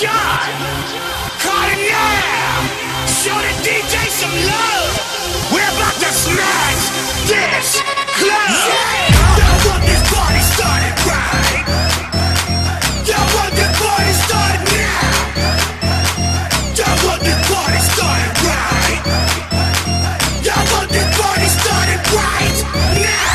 John. Call it now. Show the DJ some love. We're about to smash this club. Y'all want this party started right? Y'all want this party started now? Y'all want this party started right? Y'all want this party started right now?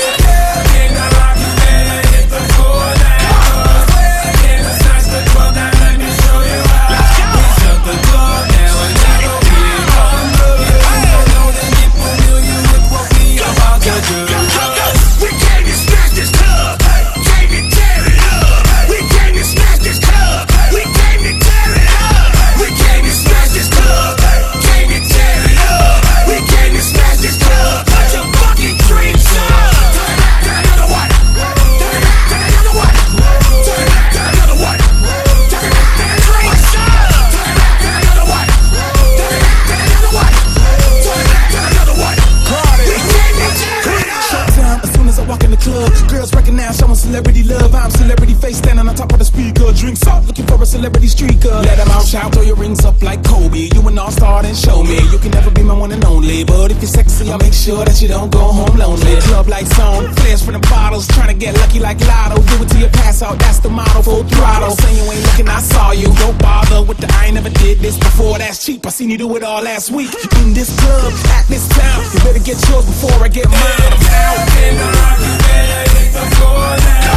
Celebrity love, I'm celebrity face standing on top of the speaker. Drinks up, looking for a celebrity streaker. Let them out, shout, throw your rings up like Kobe. You an all-star, then show me. You can never be my one and only, but if you're sexy, I'll make sure that you don't go home lonely. Club lights on, flares for the bottles, trying to get lucky like Lotto. Do it till you pass out, that's the motto. Full throttle, saying you ain't looking, I saw you. Don't bother with the I ain't never did this before. That's cheap, I seen you do it all last week. In this club, at this time, you better get yours before I get mine. I'm out in the rock, you better hit the floor now.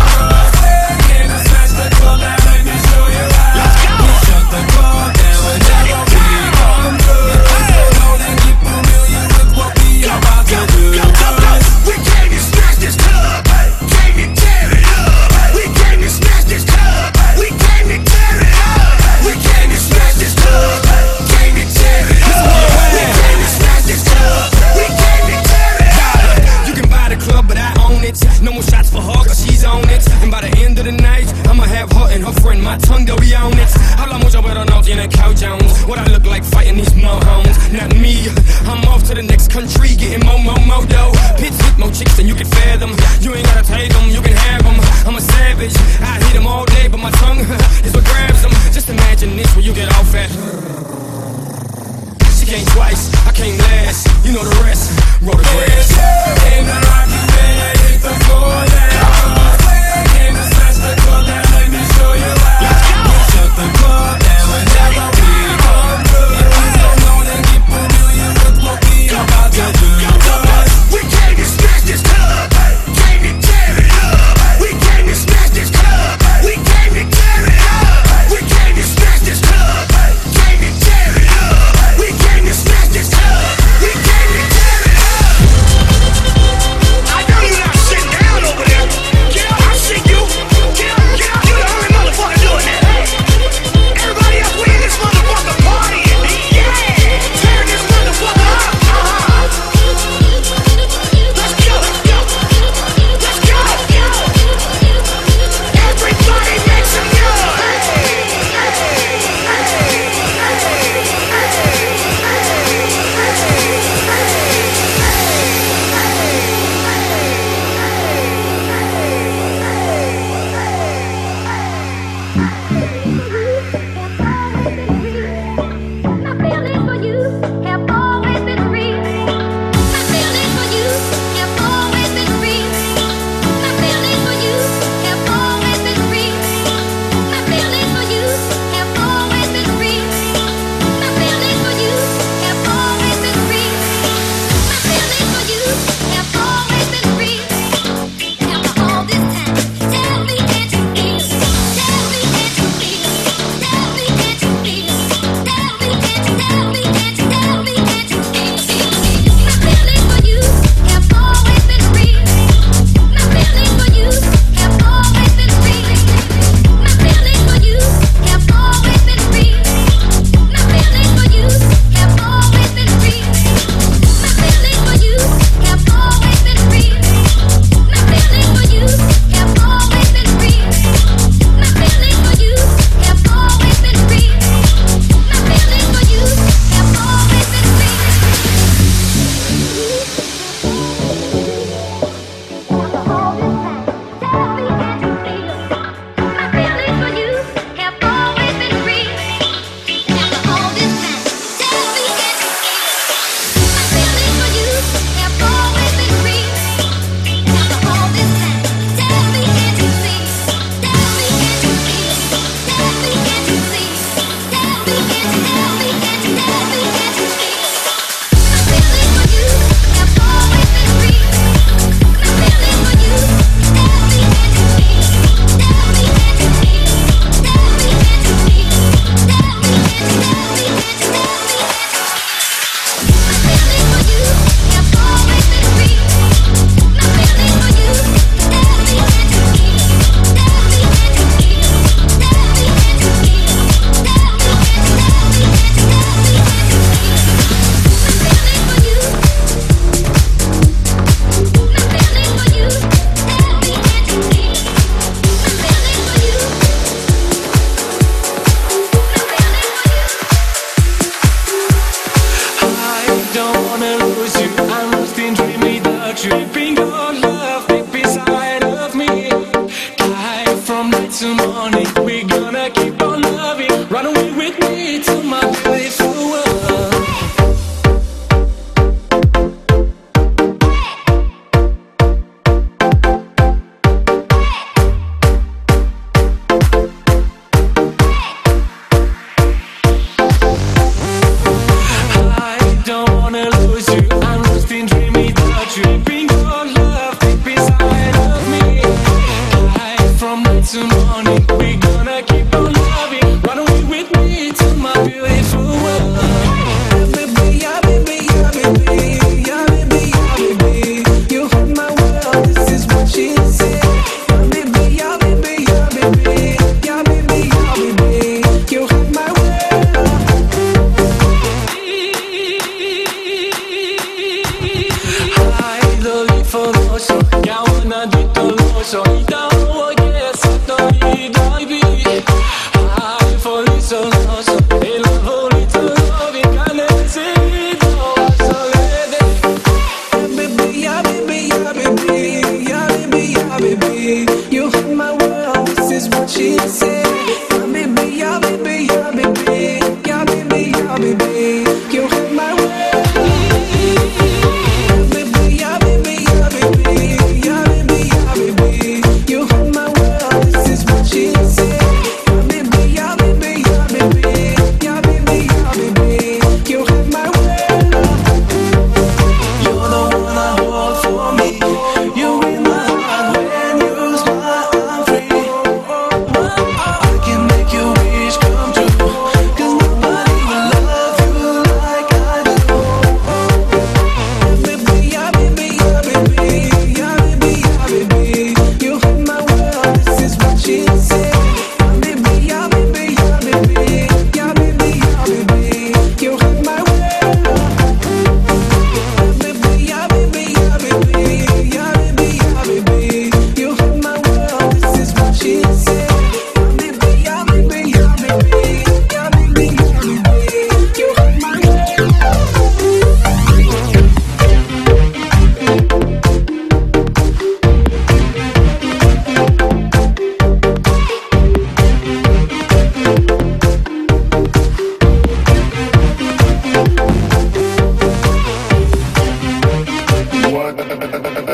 The club now, let me show you how. Let's go. We shut the club down whenever we come through. Know that keep familiar with what we about to do. We came to smash this club. Came to tear it up. We came to smash this club. We came to tear it up. We came to smash this club. Came to tear it up. We came to smash this club. We came to tear it up. You can buy the club, but I own it. No more shots for her, cause she's on it. And by the end of the night, I'ma have her and her friend, my tongue, they'll be on it. Habla mucho pero no tiene Cow Jones. What I look like fighting these mohons. Not me, I'm off to the next country, getting more dough. Pits with more chicks than you can fathom. You ain't gotta take them, you can have them. I'm a savage, I hit them all day, but my tongue is what grabs them. Just imagine this when you get off at. She came twice, I came last. You know the rest, roll the grass. In the rock, you better hit the floor now. The club now, let me show you how. We shut the club down whenever we come through. Don't know that get familiar with what we about to do. We came to smash this club. Came to tear it up. We came to smash this club. We came to tear it up. We came to smash this club. Came to tear it up. We came to smash this club. We came to tear it up.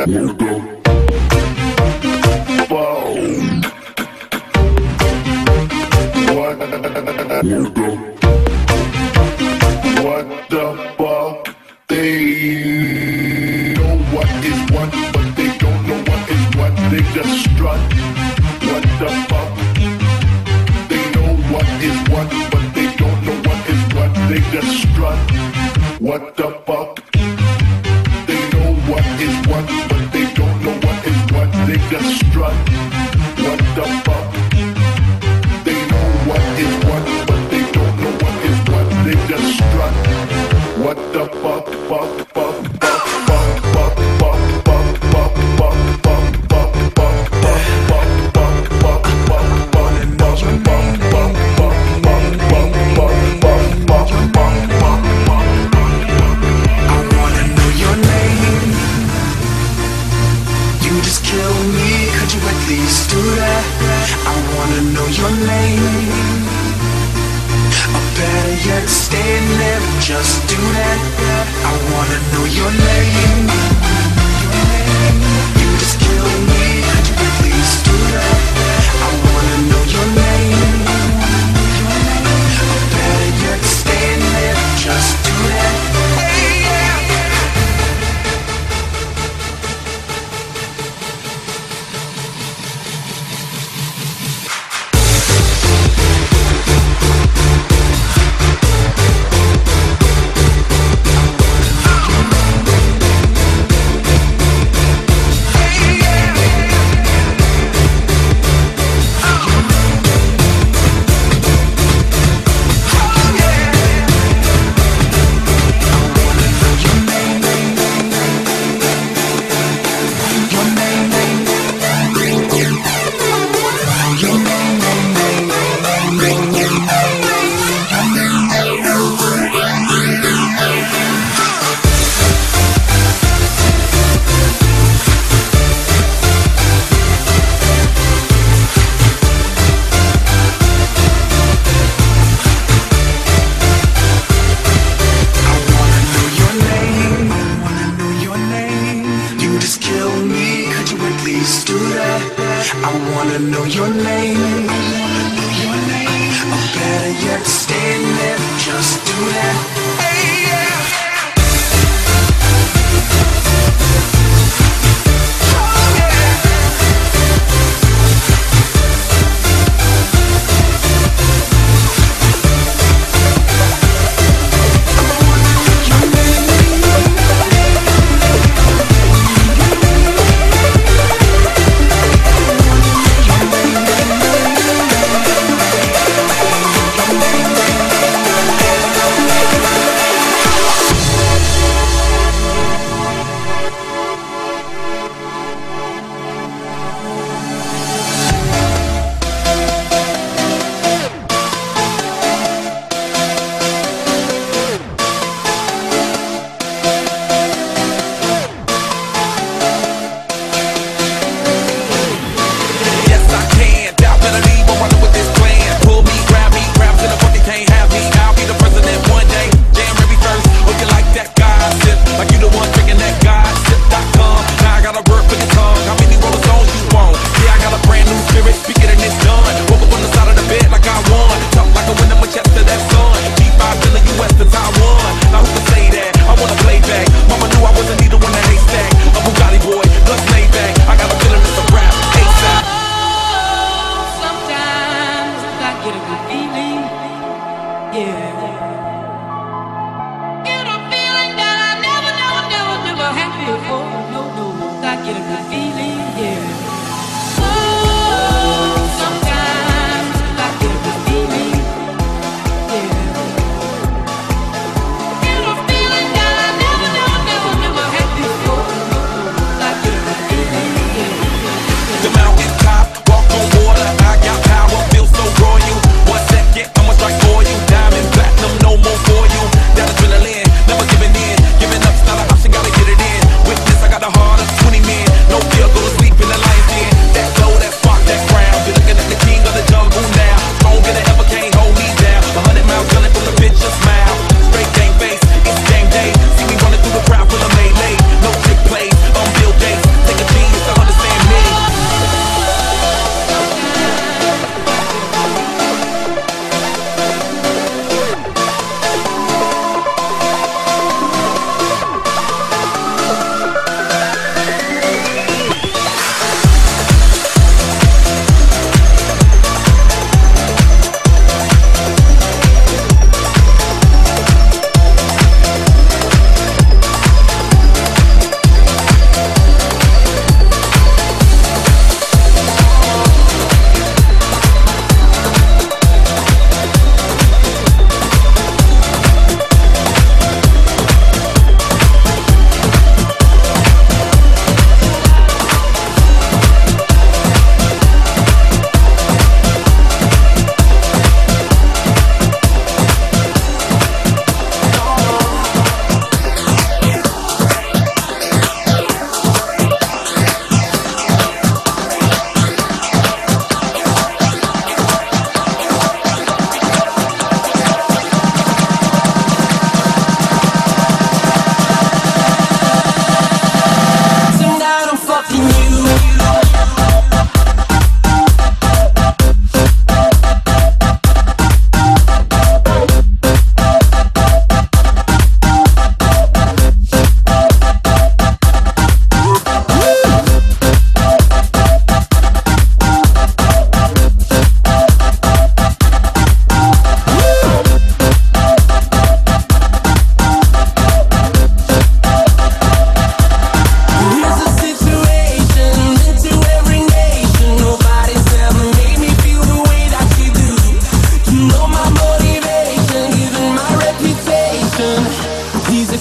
No fear, go to sleep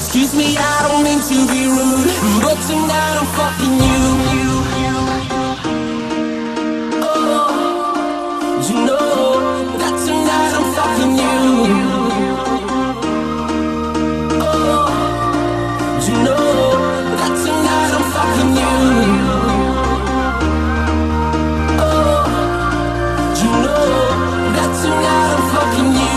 excuse me, I don't mean to be rude, but tonight I'm fucking you. Oh, you know that tonight I'm fucking you. Oh, you know that tonight I'm fucking you. Oh, you know that tonight I'm fucking you.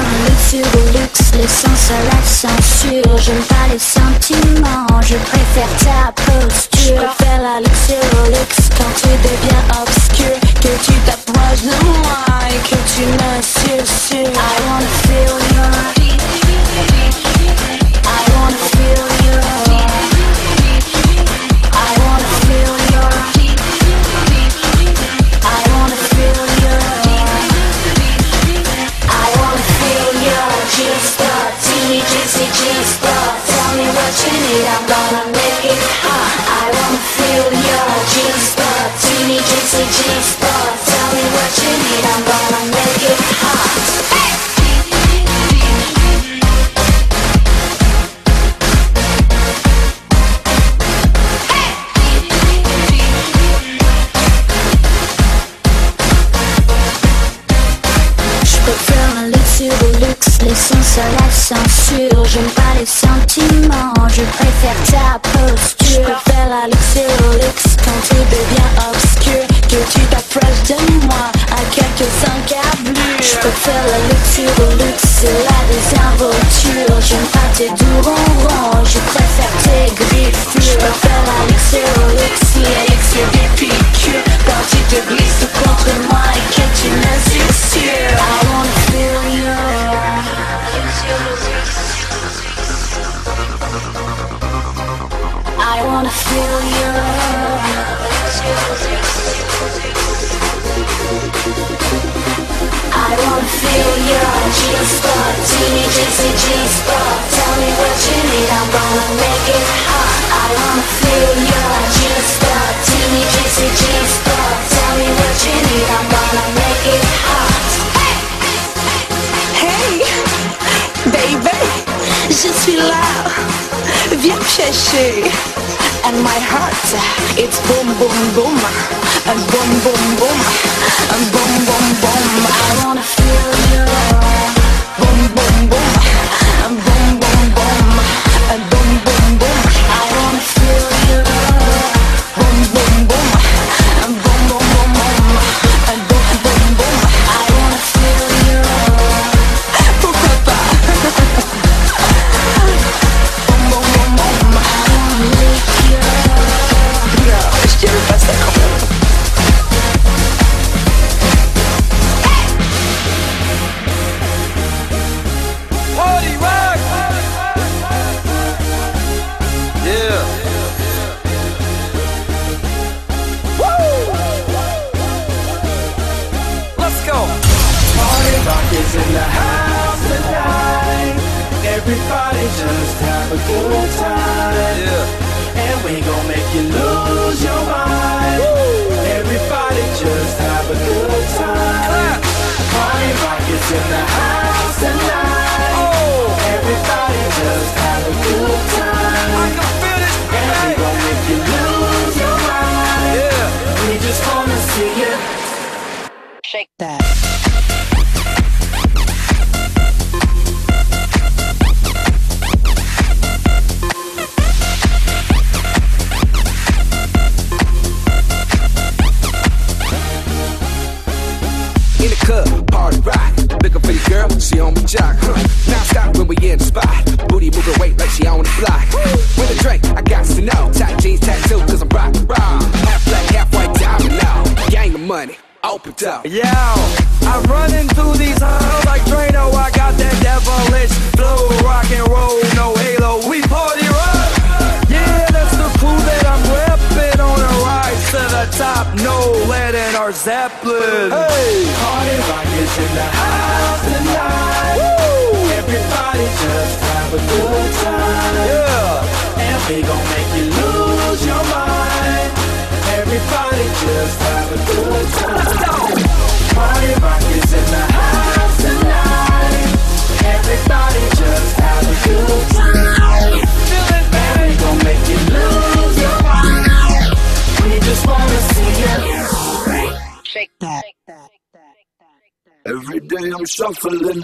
un luxe de luxe, l'essence à la censure. J'aime pas les sentiments, je préfère ta posture. Je préfère la luxe au luxe quand tu deviens obscur, que tu t'approches de moi et que tu me susurres. I wanna feel your heat, I wanna feel your heat, I wanna feel your heat, I wanna feel your heat, I wanna feel your G-spot, teeny juicy G-spot. Tell me what you need, I'm gonna make it hot. I wanna feel your G-spot, teeny juicy G-spot. Tell me what you need, I'm gonna make it hot. L'essence à la censure, j'aime pas les sentiments, je préfère ta posture. Je préfère la luxe au luxe quand tu deviens obscur, que tu t'approches de moi à quelques encablures. Je préfère la luxe au luxe, c'est la désinvolture. J'aime pas tes doux ronrons, je préfère tes griffures. Je préfère la luxe au luxe, l'élixir des piqûres, quand tu te glisses contre moi et que tu me susurres. I wanna feel you. I wanna feel you. I wanna feel your G-spot, teeny juicy G-spot. Tell me what you need, I'm gonna make it hot. I wanna feel your G-spot, teeny juicy G-spot. Tell me what you need, I'm gonna make it hot. Hey, baby, je suis là, viens me chercher. And my heart, it's boom boom boom, and boom boom boom, and boom boom boom. I wanna feel you, boom boom boom, and boom boom boom, and boom boom boom. I wanna feel you, boom boom boom, and boom boom boom boom, and boom boom boom. I wanna feel you. Pourquoi pas? Boom boom boom boom. I wanna lick you. Non, je dirais pas ça quand même. Party rock! Yeah. Woo! Let's go. Party rock is in the house tonight. Everybody just have a good time. Yeah. And we gon' make you lose your mind. Everybody just have a good time. Clap. Party rock is in the house tonight. Oh. Everybody just have a good I time. can feel this And we tonight. gon' make you lose your mind. Yeah. We just wanna see you Shake that. In the club, party rock. Looking for your girl, she on the jock, huh? Now stop when we in the spot. Booty moving weight like she on the block. With a drink, I got to know. Tight jeans, tattoo, cause I'm rock, raw. Half black, half white, diamond now. Gang of money, open up. Yo, I'm running through these halls like Drano. I got that devilish flow, rock and roll, no halo. We party rock. Yeah, that's the crew that I'm repping on a rise to the top. No lead in our Zeppelin. Hey, Party rock is in the house tonight. woo, Everybody just have a good time. yeah. And we gon' make you lose your mind. Everybody just have a good time. Party rock is in the house tonight. Everybody just have a good time. Feel it, And we baby. gon' make you lose your mind. We just wanna see you. Shake that. Every day I'm shuffling.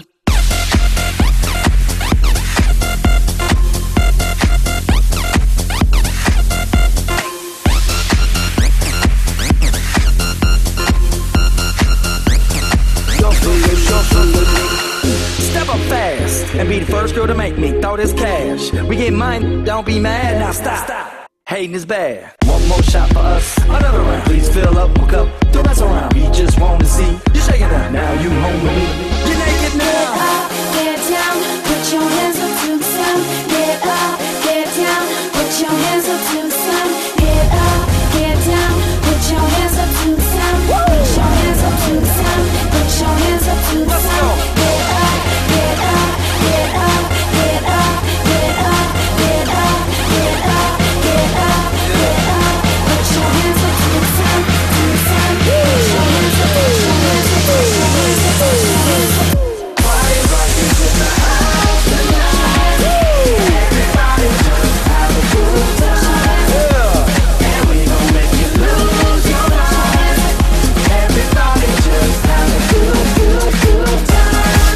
Step up fast and be the first girl to make me throw this cash. We get mine, don't be mad, now stop. Hating is bad. One more shot for us, another round. Please fill up, hook up, don't mess around. We just wanna see you shaking that. Now you home with me. You're naked now. Get up, get down, put your hands up to the sun. Get up, get down, put your hands up to the sun. Get up, get down, put your hands up to the sun. Put your hands up to the sun. Put your hands up to the sun. Get up, get up, get up, get up, get up, get up, get up, get up, get up. Put your hands up to the sun, to the sun. Put your hands up, put your hands up, put your hands up, put your hands up. Party rock is in the house tonight. Everybody just have a good time. And we gon' make you lose your mind. Everybody just have a good, good, good time.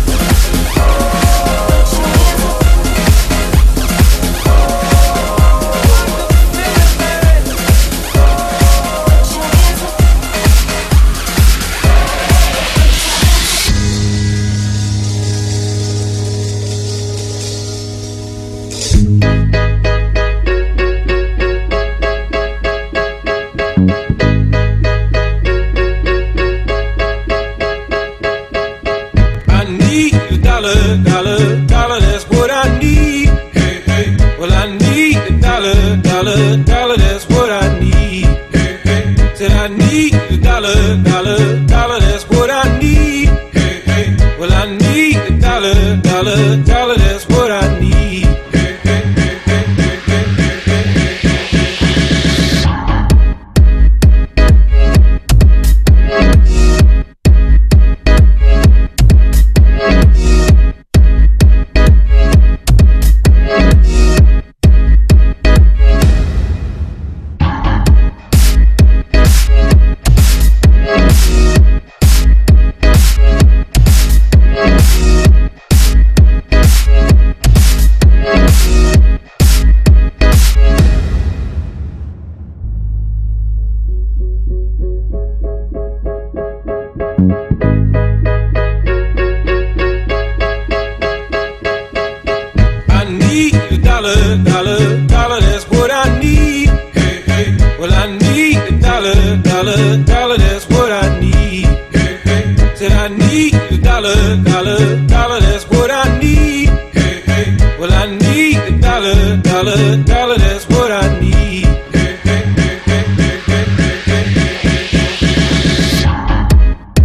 I need a dollar, dollar, dollar, that's what I need. Hey, hey. Well, I need a dollar, dollar, dollar, that's what I need. Hey, hey. Said I need a dollar, dollar, dollar, that's what I need. Hey, hey. Well, I need a dollar, dollar, dollar, that's what I need. Hey, hey, hey, hey, hey, hey, hey, hey, hey. I need a dollar, dollar, dollar, that's what I need. Hey, hey. Well, I need a dollar, dollar, dollar, that's what I need. Hey, hey. Said I need a dollar, dollar, dollar, that's what I need. Hey, hey. Well, I need a dollar, dollar, dollar, that's what I need. Hey, hey, hey, hey, hey, hey, hey, hey, hey, hey.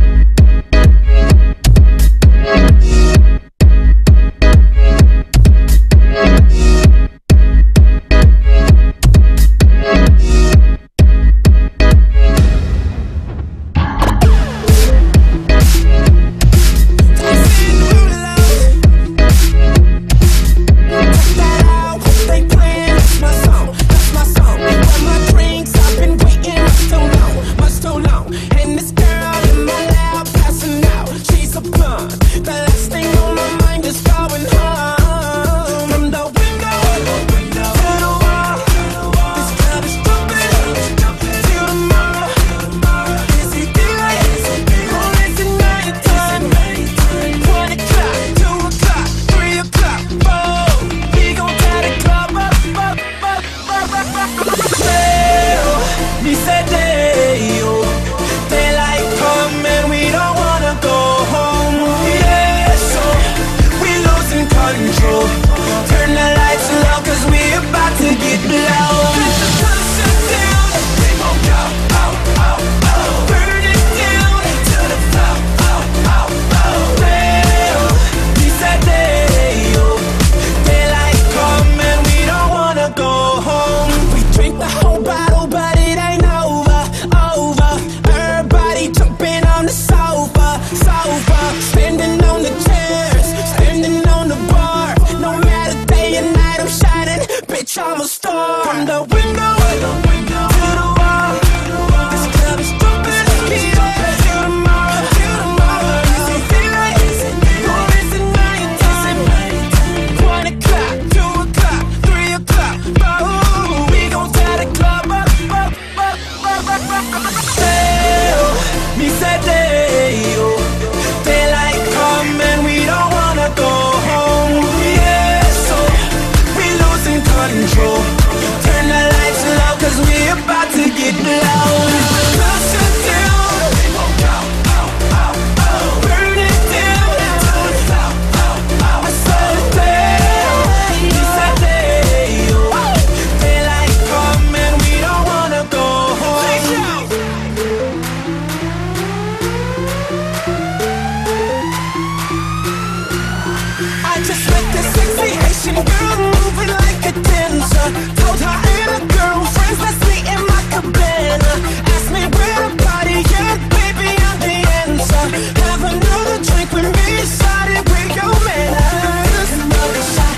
just met this sexy Haitian girl moving like a dancer. Told her I ain't a girlfriend, let's meet in my cabana. Asked me where to party, yeah, baby, I'm the answer. Have another drink with me, started with your manners. Another shot,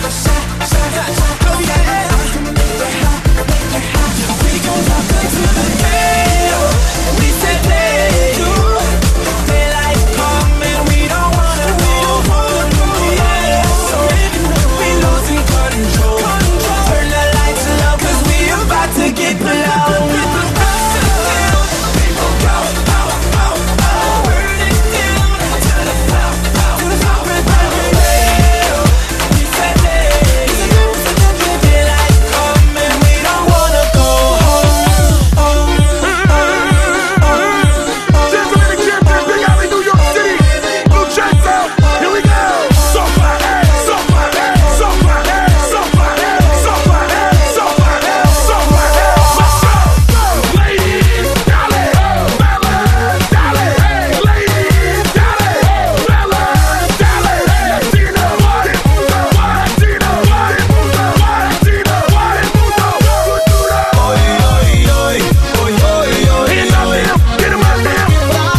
oh yeah. Make it hot, we gon' rock until the day. We said day, daylight come and we don't wanna go home, yeah. So we losing control. Turn the lights low 'cause we about to get blown. People go, burn it down to the floor, we said day, daylight come and we don't wanna go home. Gentlemen and champions, Big Alley, New York City, Lucenzo, here we go. So far, so far, so far, so far, so far, so far, so far. Let's go. Ladies, dale, fellas, dale, ladies, dale, fellas, dale. Latino, what it mundo, Latino, what it mundo, Latino, what it mundo. Cultura. Hands up there, get 'em out there.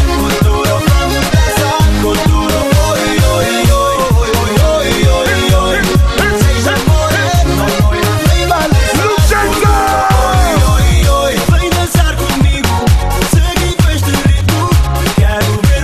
Lucenzo! Vem dançar comigo, segue este ritmo, quero ver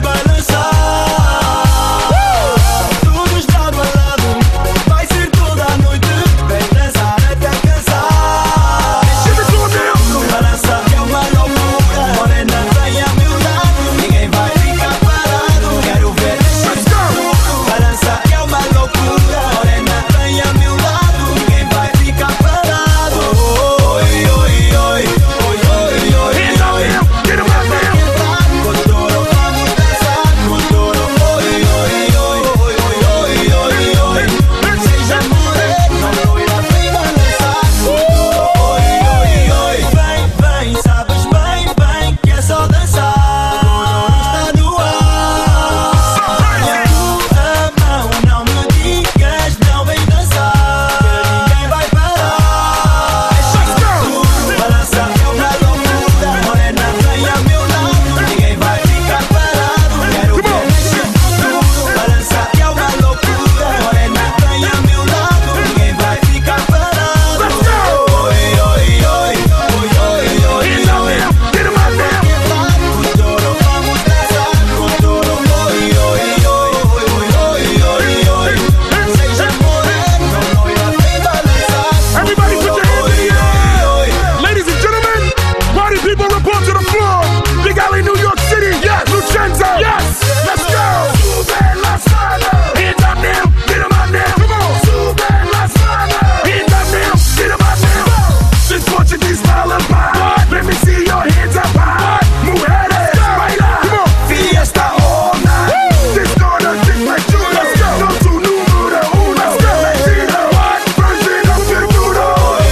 balançar. Todos lado a lado, vai ser toda a noite, vem dançar até cansar. Give it to 'em now. Balança que é uma loucura, morena vem a meu lado, ninguém vai ficar parado, quero ver mexer tudo. Balança que é uma loucura, morena vem a meu lado, ninguém vai ficar parado. Oi, oi, oi, oi, oi, oi, Hands up there, get 'em out there. Codoro, vamos dançar, Codoro, oi, oi, oi, oi, oi, oi, oi. Seja morena, loira, vem balançar, Codoro, oi, oi, oi. Vem, vem, sabes bem, bem, que é só dançar. Codoro está no ar. Minha tua mão, não me digas, não vem dançar, que ninguém vai parar. Balança é uma loucura, morena vem a meu lado, ninguém vai ficar parado, quero ver mexer tudo. Balança é uma loucura, morena vem a meu lado, ninguém vai ficar parado. Let's go. Oi, oi, oi, oi, oi, oi, Hands up there, get 'em out there. Codoro, vamos dançar, Codoro, oi, oi, oi, oi, oi, oi, oi. Seja morena, loira, vem balançar. Everybody put your hands in the air. Ladies and gentlemen, party people report to the floor. Big Alley, New York City, yes. Lucenzo, yes. Let's go. Sube las manos. Hands up now, get 'em out there. Come on. Sube las manos. Hands up now, get 'em out there. This Portuguese lullaby. Let me see your hands up high. Mujeres, baila. Come on. Fiesta all night. This gonna kick like you. Let's go. Go to número uno. Let's go. Latino, what? Version of your duro.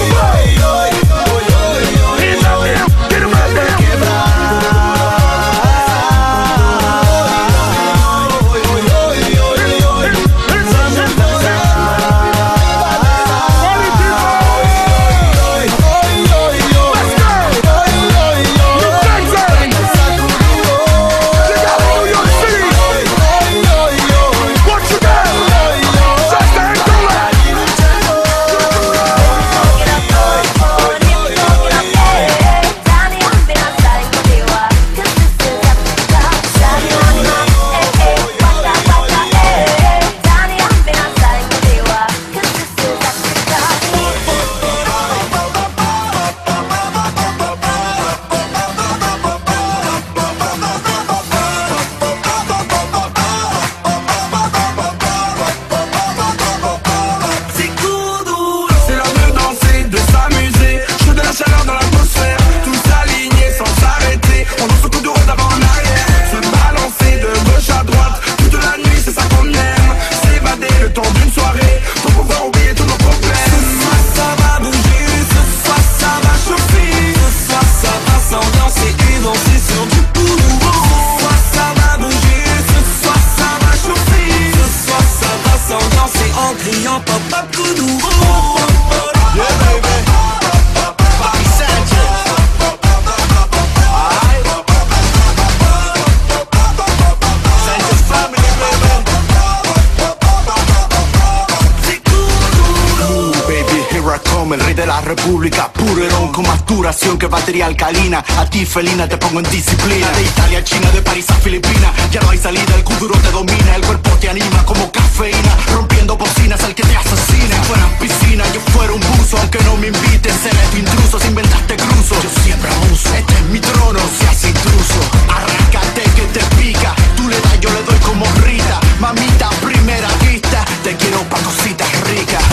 Hands up there, get 'em out there. Sans danser en criant pop pop Kuduro. Yeah, baby. Papi Sanchez. Alright. Sanchez family, baby. Baby, here I come, el rey de la república. Puro con más duración que batería alcalina. A ti, felina, te pongo en disciplina. De Italia a China, de París a Filipinas. Ya no hay salida, el Kuduro te domina. El cuerpo te anima como cafeína. Rompiendo bocinas al que te asesina. Si fuera piscina, yo fuera un buzo. Aunque no me invites, seré tu intruso. Si inventaste cruzo, yo siempre abuso. Este es mi trono, seas intruso. Arráncate que te pica. Tú le das, yo le doy como Rita. Mamita, primera vista. Te quiero pa' cositas ricas.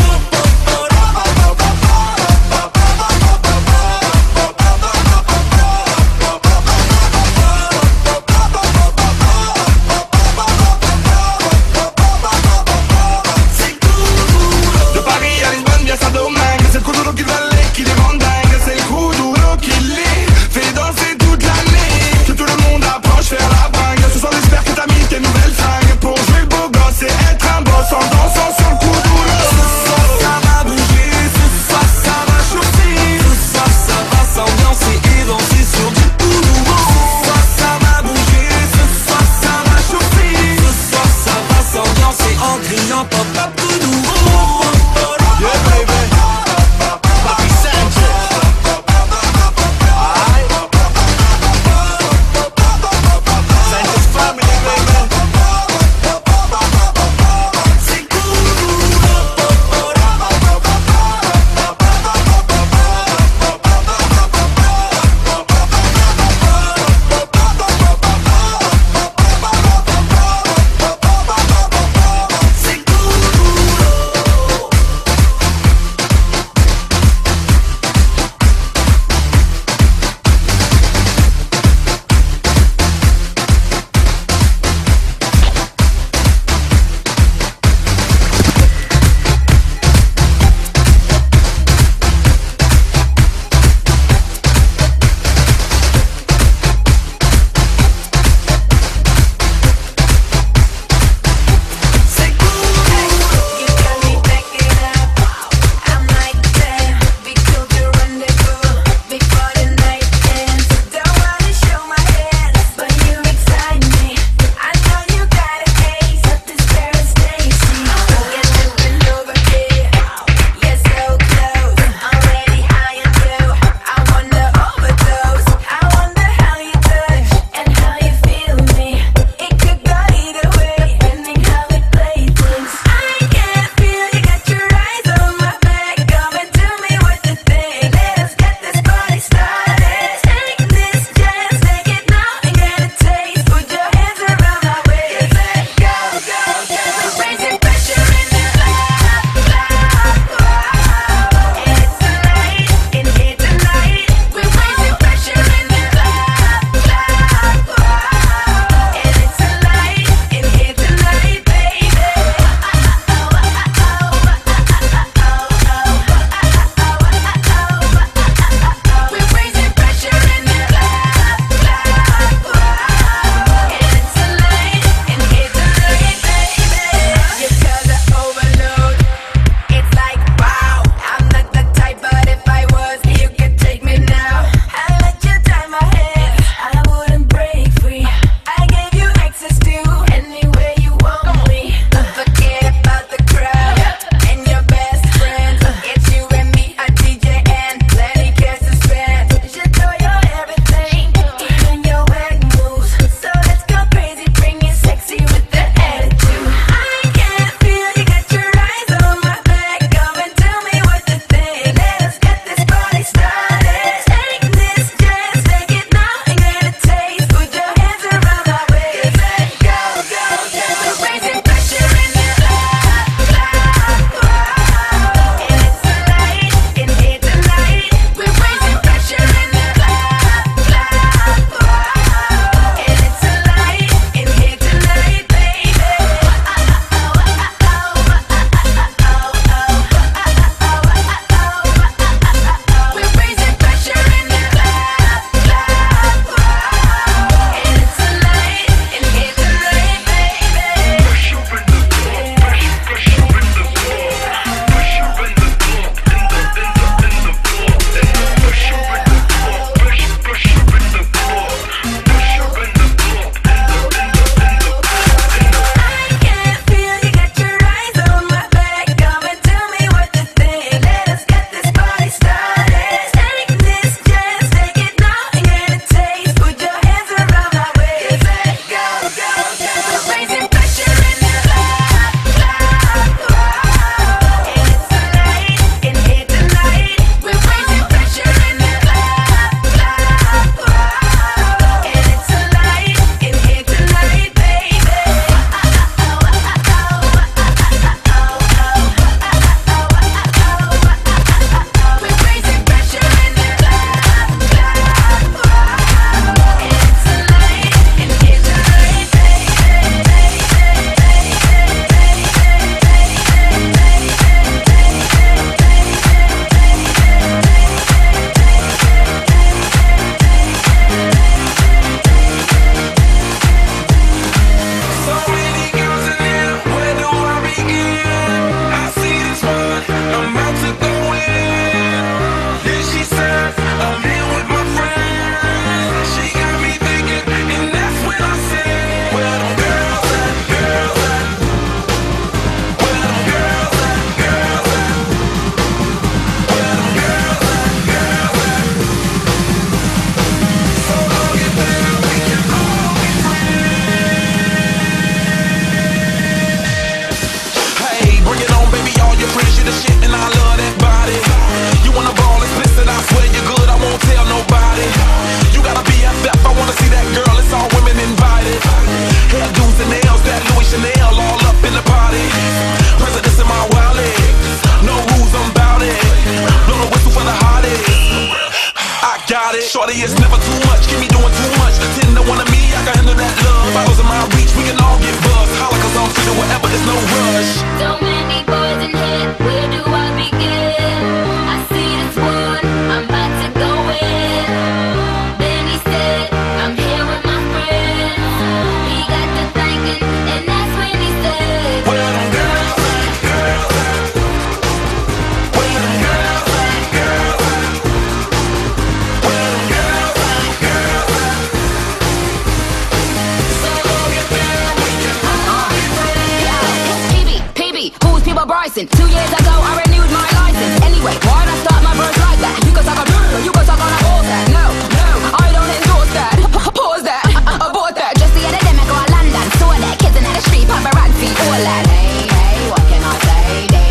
Barbara Bryson. 2 years ago, I renewed my license. Anyway, why'd I start my verse like that? You can suck on or you can suck on a horse that. No, I don't endorse that. Pause that, abort that. Just the other day, I go to London. Saw that, kids in the street, paparazzi, all that. Hey, what can I say?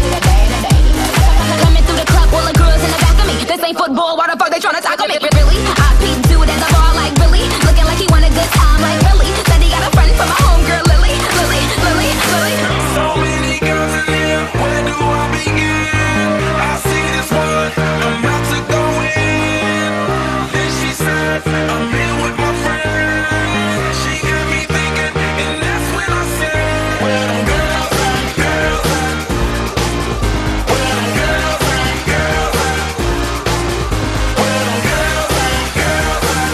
Coming through the club, all the girls in the back of me. This ain't football, why the fuck they tryna tackle me? Really? I peeped dude at the bar like Billy, looking like he want a good time like Billy. Said he got a friend from my homegirl Lily. So many girls in here, where do I begin? I see this one, I'm about to go in. Then she said, I'm here with my friend. She got me thinking, and that's when I said, where them girls at, girls at? Where them girls at, girls at? Where them girls at, girls at?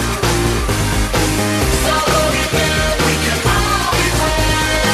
So go get mad, we can all be friends.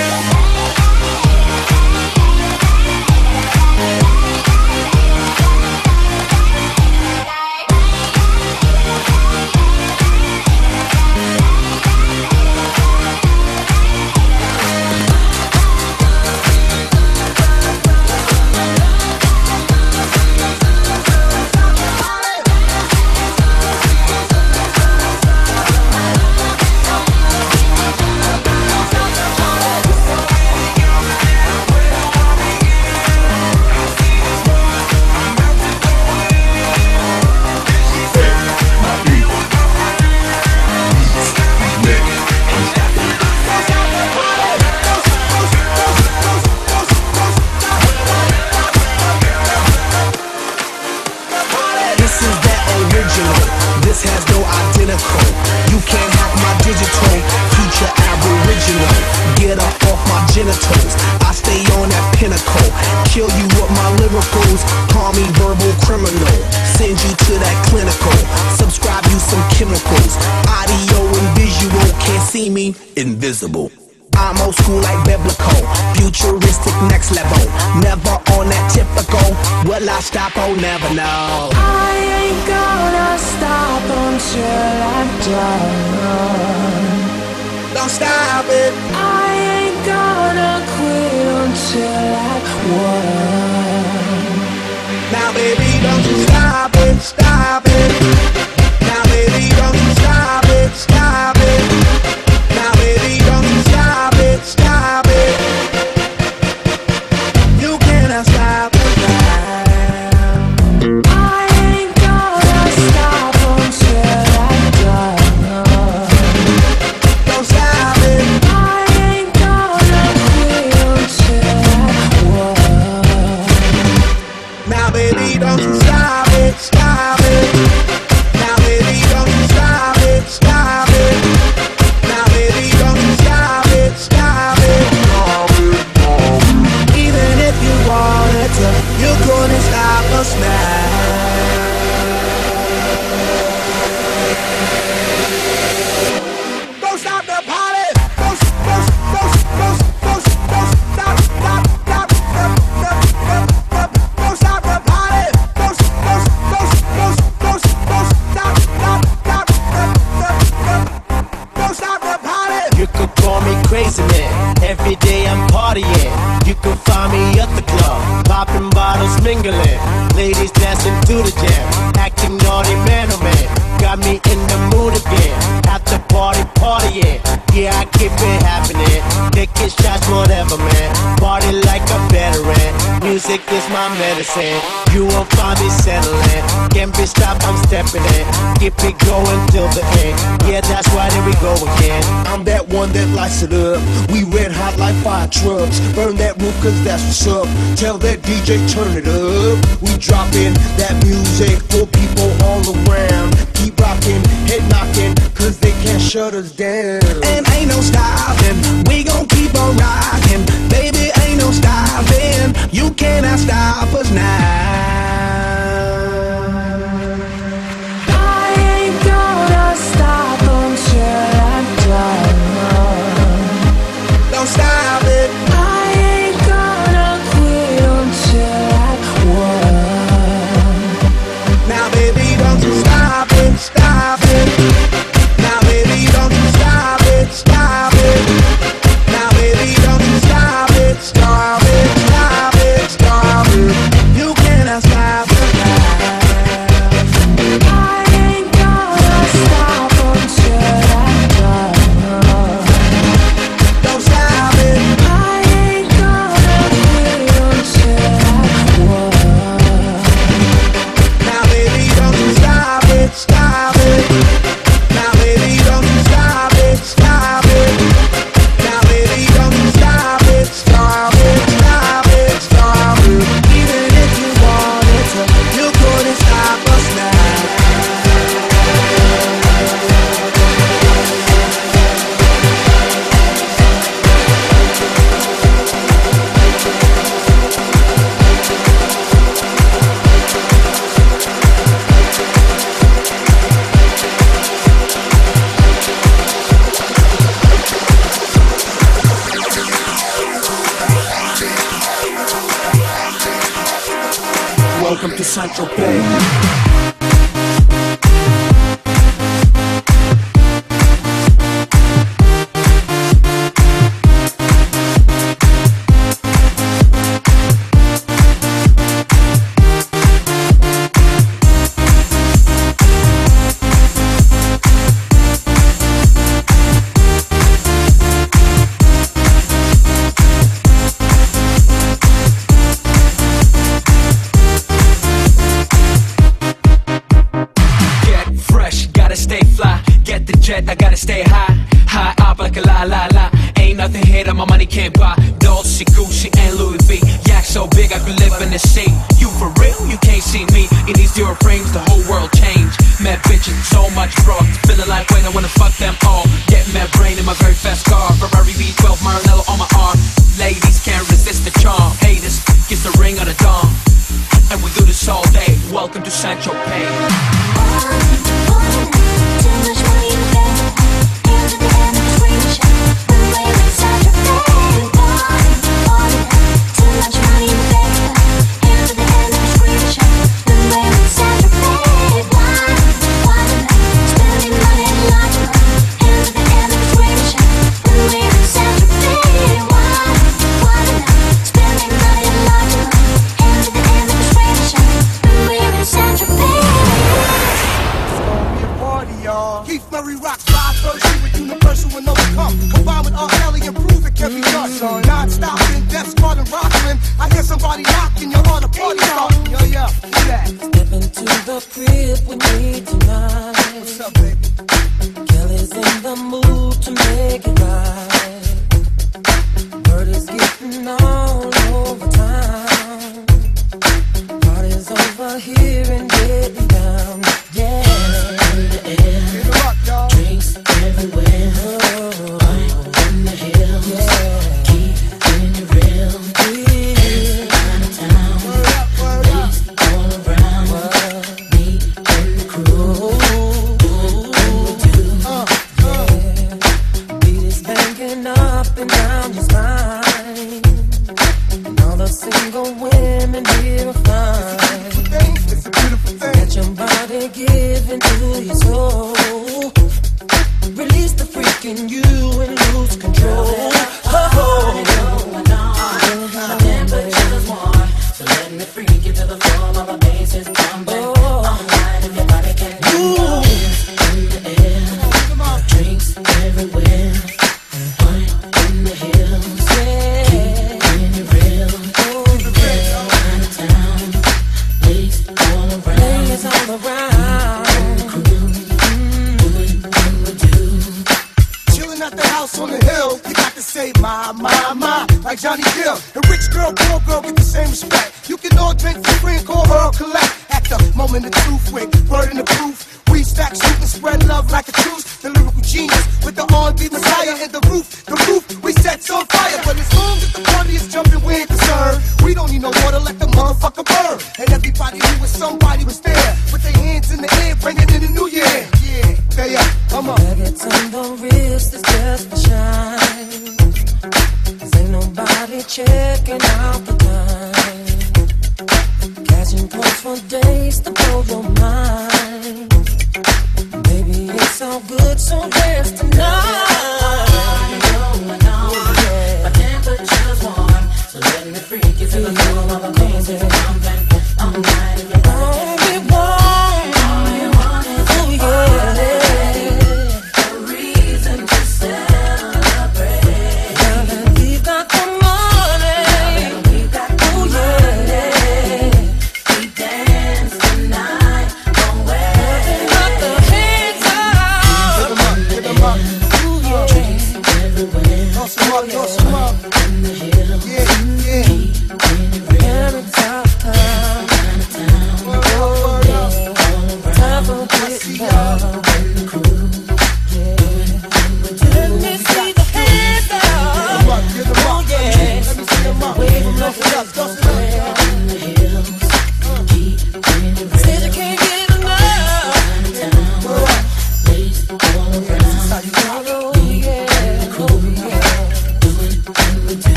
This is that original. This has no identical. You can't hack my digital. Future aboriginal. Get up off my genitals. I stay on that pinnacle. Kill you with my lyricals. Call me verbal criminal. Send you to that clinical. Subscribe you some chemicals. Audio and visual. Can't see me. Invisible. I'm old school like biblical, futuristic next level. Never on that typical. Will I stop? Oh, never know. I ain't gonna stop until I'm done. Don't stop it. I ain't gonna quit until I won. Now, baby, don't you stop it, stop it. Now, baby, don't you stop it, stop it. Now, baby, don't you stop it, stop it. You cannot stop it now. I ain't gonna stop until I'm done. Don't stop it. I ain't gonna quit until I won. Now, baby, don't you stop it, stop it. Now, baby, don't you stop it, stop it. Now, baby, don't you stop it, stop it. Even if you wanted to, you couldn't stop us now. Don't stop the party. Don't stop, don't stop the party. Don't stop the party. You could call me crazy man. Every day I'm partying. You could find me at the club, popping bottles, mingling. Ladies dancing to the jam, acting naughty man oh man. Got me in the mood again. After party, partying. Yeah, I keep it happening. Taking shots, whatever man. Party like a veteran. Music is my medicine. You won't find me settling. Can't be stopped, I'm stepping in. Keep it going till the end. Yeah, that's why there we go again. I'm that one that lights it up. We red hot like fire trucks. Burn that roof cause that's what's up. Tell that DJ turn it up. We dropping that music for people all around. Keep rocking, head knocking, cause they can't shut us down. And ain't no stopping, we gon' keep on rocking. Baby, ain't no stopping, you cannot stop us now. I ain't gonna stop until I'm done. Don't stop it. I ain't gonna quit until I won. Now, baby, don't you stop it, stop it. Now, baby, don't you stop it, stop it. Now, baby, don't you stop it, stop it, stop Welcome to Saint-Tropez. I gotta stay high, high up like a la la la. Ain't nothing here that my money can't buy. Dolce, Gucci, and Louis V. Yak so big I could live in the sea. You for real? You can't see me in these zero frames. The whole world changed. Mad bitches, so much drugs. Feeling like wait, I wanna fuck them all. Get mad brain in my very fast car. Ferrari V12, Maranello on my arm. Ladies can't resist the charm. Haters, kiss the ring on the dawn. And we do this all day. Welcome to Saint-Tropez. Freak, you feel the flow of a amazing, I'm